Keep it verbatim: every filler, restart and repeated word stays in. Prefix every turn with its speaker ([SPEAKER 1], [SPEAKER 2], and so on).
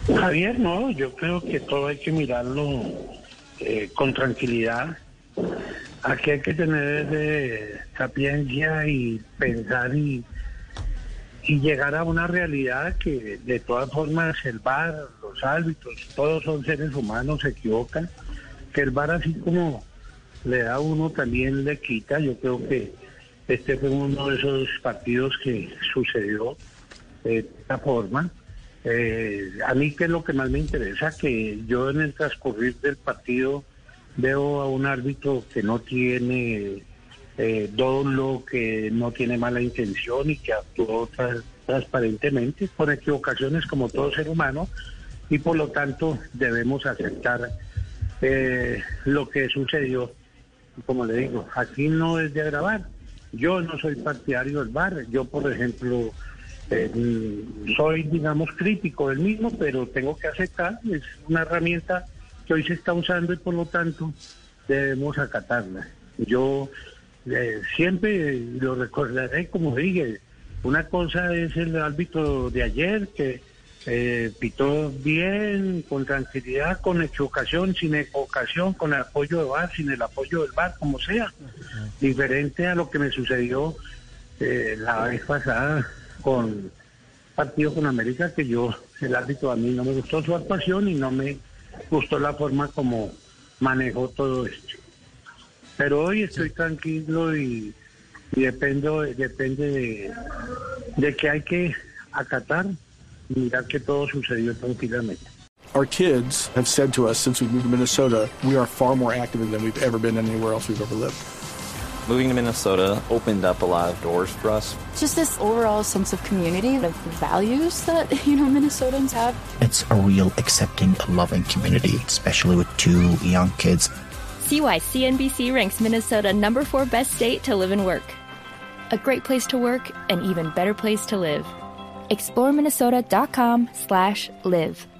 [SPEAKER 1] Javier, no, yo creo que todo hay que mirarlo eh, con tranquilidad. Aquí hay que tener eh, sapiencia y pensar y, y llegar a una realidad que de todas formas el V A R, los árbitros, todos son seres humanos, se equivocan, que el V A R así como le da a uno también le quita. Yo creo que este fue uno de esos partidos que sucedió de esta forma. Eh, a mí que es lo que más me interesa, que yo en el transcurrir del partido veo a un árbitro que no tiene eh, dolo, que no tiene mala intención y que actuó tra- transparentemente, con equivocaciones como todo ser humano, y por lo tanto debemos aceptar eh, lo que sucedió. Como le digo, aquí no es de agravar. Yo no soy partidario del V A R. Yo, por ejemplo, eh, soy, digamos, crítico del mismo, pero tengo que aceptar. Es una herramienta que hoy se está usando y por lo tanto debemos acatarla. Yo eh, siempre lo recordaré, como dije, una cosa es el árbitro de ayer que eh, pitó bien, con tranquilidad, con equivocación, sin equivocación, con el apoyo de V A R, sin el apoyo del V A R, como sea. Diferente a lo que me sucedió eh, la vez pasada con partido con América, que yo, el árbitro, a mí no me gustó su actuación y no me gustó la forma como manejó todo esto. Pero hoy estoy tranquilo y, y dependo, depende de, de que hay que acatar y mirar que todo sucedió tranquilamente.
[SPEAKER 2] Our kids have said to us since we moved to Minnesota, we are far more active than we've ever been anywhere else we've ever lived.
[SPEAKER 3] Moving to Minnesota opened up a lot of doors for us.
[SPEAKER 4] Just this overall sense of community, of values that, you know, Minnesotans have.
[SPEAKER 5] It's a real accepting, loving community, especially with two young kids.
[SPEAKER 6] See why C N B C ranks Minnesota number four best state to live and work. A great place to work, an even better place to live. explore minnesota dot com slash live.